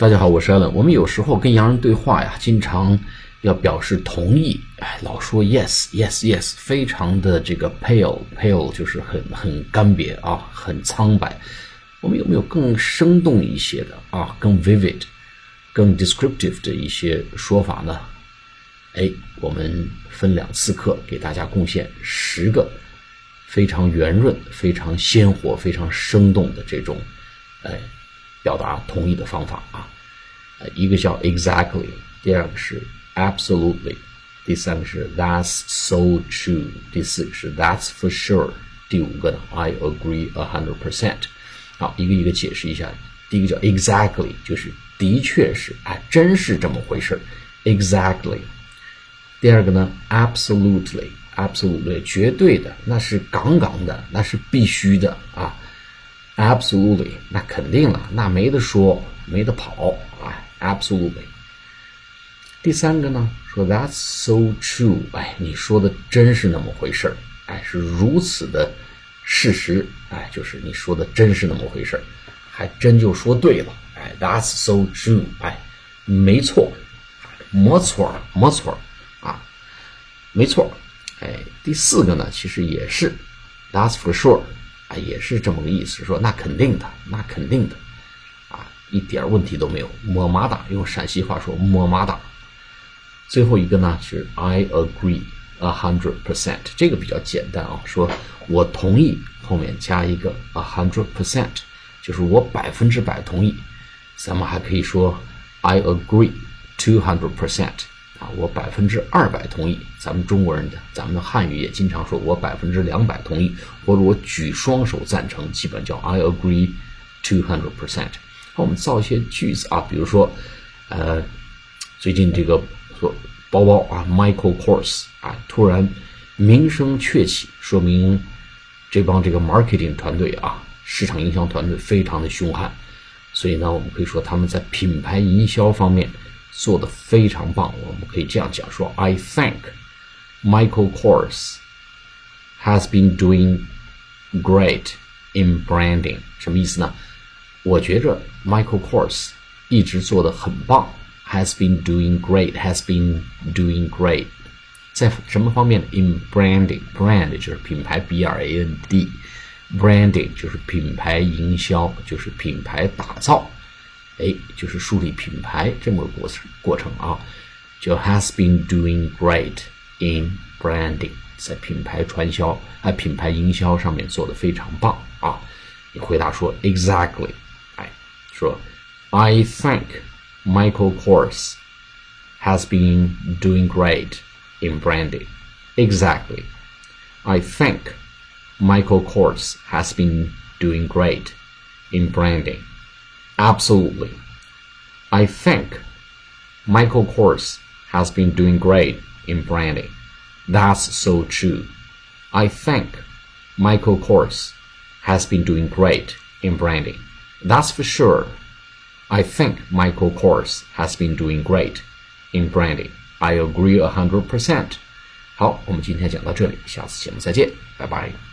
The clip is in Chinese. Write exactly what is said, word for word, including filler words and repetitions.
大家好，我是 Allen。我们有时候跟洋人对话呀，经常要表示同意，哎，老说 yes yes yes， 非常的这个 pale pale， 就是很很干瘪啊，很苍白。我们有没有更生动一些的啊，更 vivid、更 descriptive 的一些说法呢？哎，我们分两次课给大家贡献十个非常圆润、非常鲜活、非常生动的这种，哎。表达同意的方法啊，一个叫 exactly， 第二个是 absolutely， 第三个是 that's so true， 第四个是 that's for sure， 第五个呢 I agree a hundred percent。 好，一个一个解释一下。第一个叫 exactly， 就是的确是，哎，真是这么回事 exactly。 第二个呢 absolutely absolutely 绝对的，那是杠杠的，那是必须的啊。Absolutely， 那肯定了，那没得说，没得跑，哎 ，Absolutely。第三个呢，说 That's so true， 哎，你说的真是那么回事儿，哎，是如此的事实，哎，就是你说的真是那么回事儿，还真就说对了，哎 ，That's so true， 哎，没错，没错，没错啊，没错，哎，第四个呢，其实也是 That's for sure。也是这么个意思，说那肯定的，那肯定的，啊，一点问题都没有，么么哒，用陕西话说么么哒。最后一个呢是 I agree a hundred percent， 这个比较简单啊，说我同意，后面加一个 a hundred percent， 就是我百分之百同意。咱们还可以说 I agree two hundred percent。啊，我百分之二百同意。咱们中国人的，咱们的汉语也经常说我百分之两百同意，或者我举双手赞成，基本叫 I agree two hundred percent。好，我们造一些句子啊，比如说，呃，最近这个说包包啊 ，Michael Kors 啊，突然名声鹊起，说明这帮这个 marketing 团队啊，市场营销团队非常的凶悍，所以呢，我们可以说他们在品牌营销方面做得非常棒。我们可以这样讲说 I think Michael Kors has been doing great in branding。 什么意思呢？我觉着 Michael Kors 一直做得很棒， has been doing great has been doing great 在什么方面呢？ in branding， brand 就是品牌 B R A N D， branding 就是品牌营销，就是品牌打造，哎，就是树立品牌这么个过程过程啊，就 has been doing great in branding， 在品牌传销啊品牌营销上面做得非常棒啊。你回答说 exactly， 哎，说 I think Michael Kors has been doing great in branding. Exactly. I think Michael Kors has been doing great in branding.Absolutely. I think Michael Kors has been doing great in branding. That's so true. I think Michael Kors has been doing great in branding. That's for sure. I think Michael Kors has been doing great in branding. I agree a hundred percent. 好，我们今天讲到这里，下次节目再见，拜拜。